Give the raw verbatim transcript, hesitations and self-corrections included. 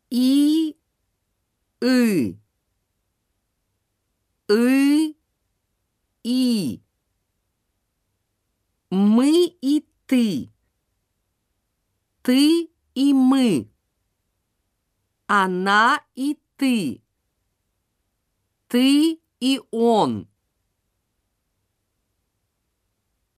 и, ы, ы, и. Мы и ты, ты и мы, она и ты, ты и он.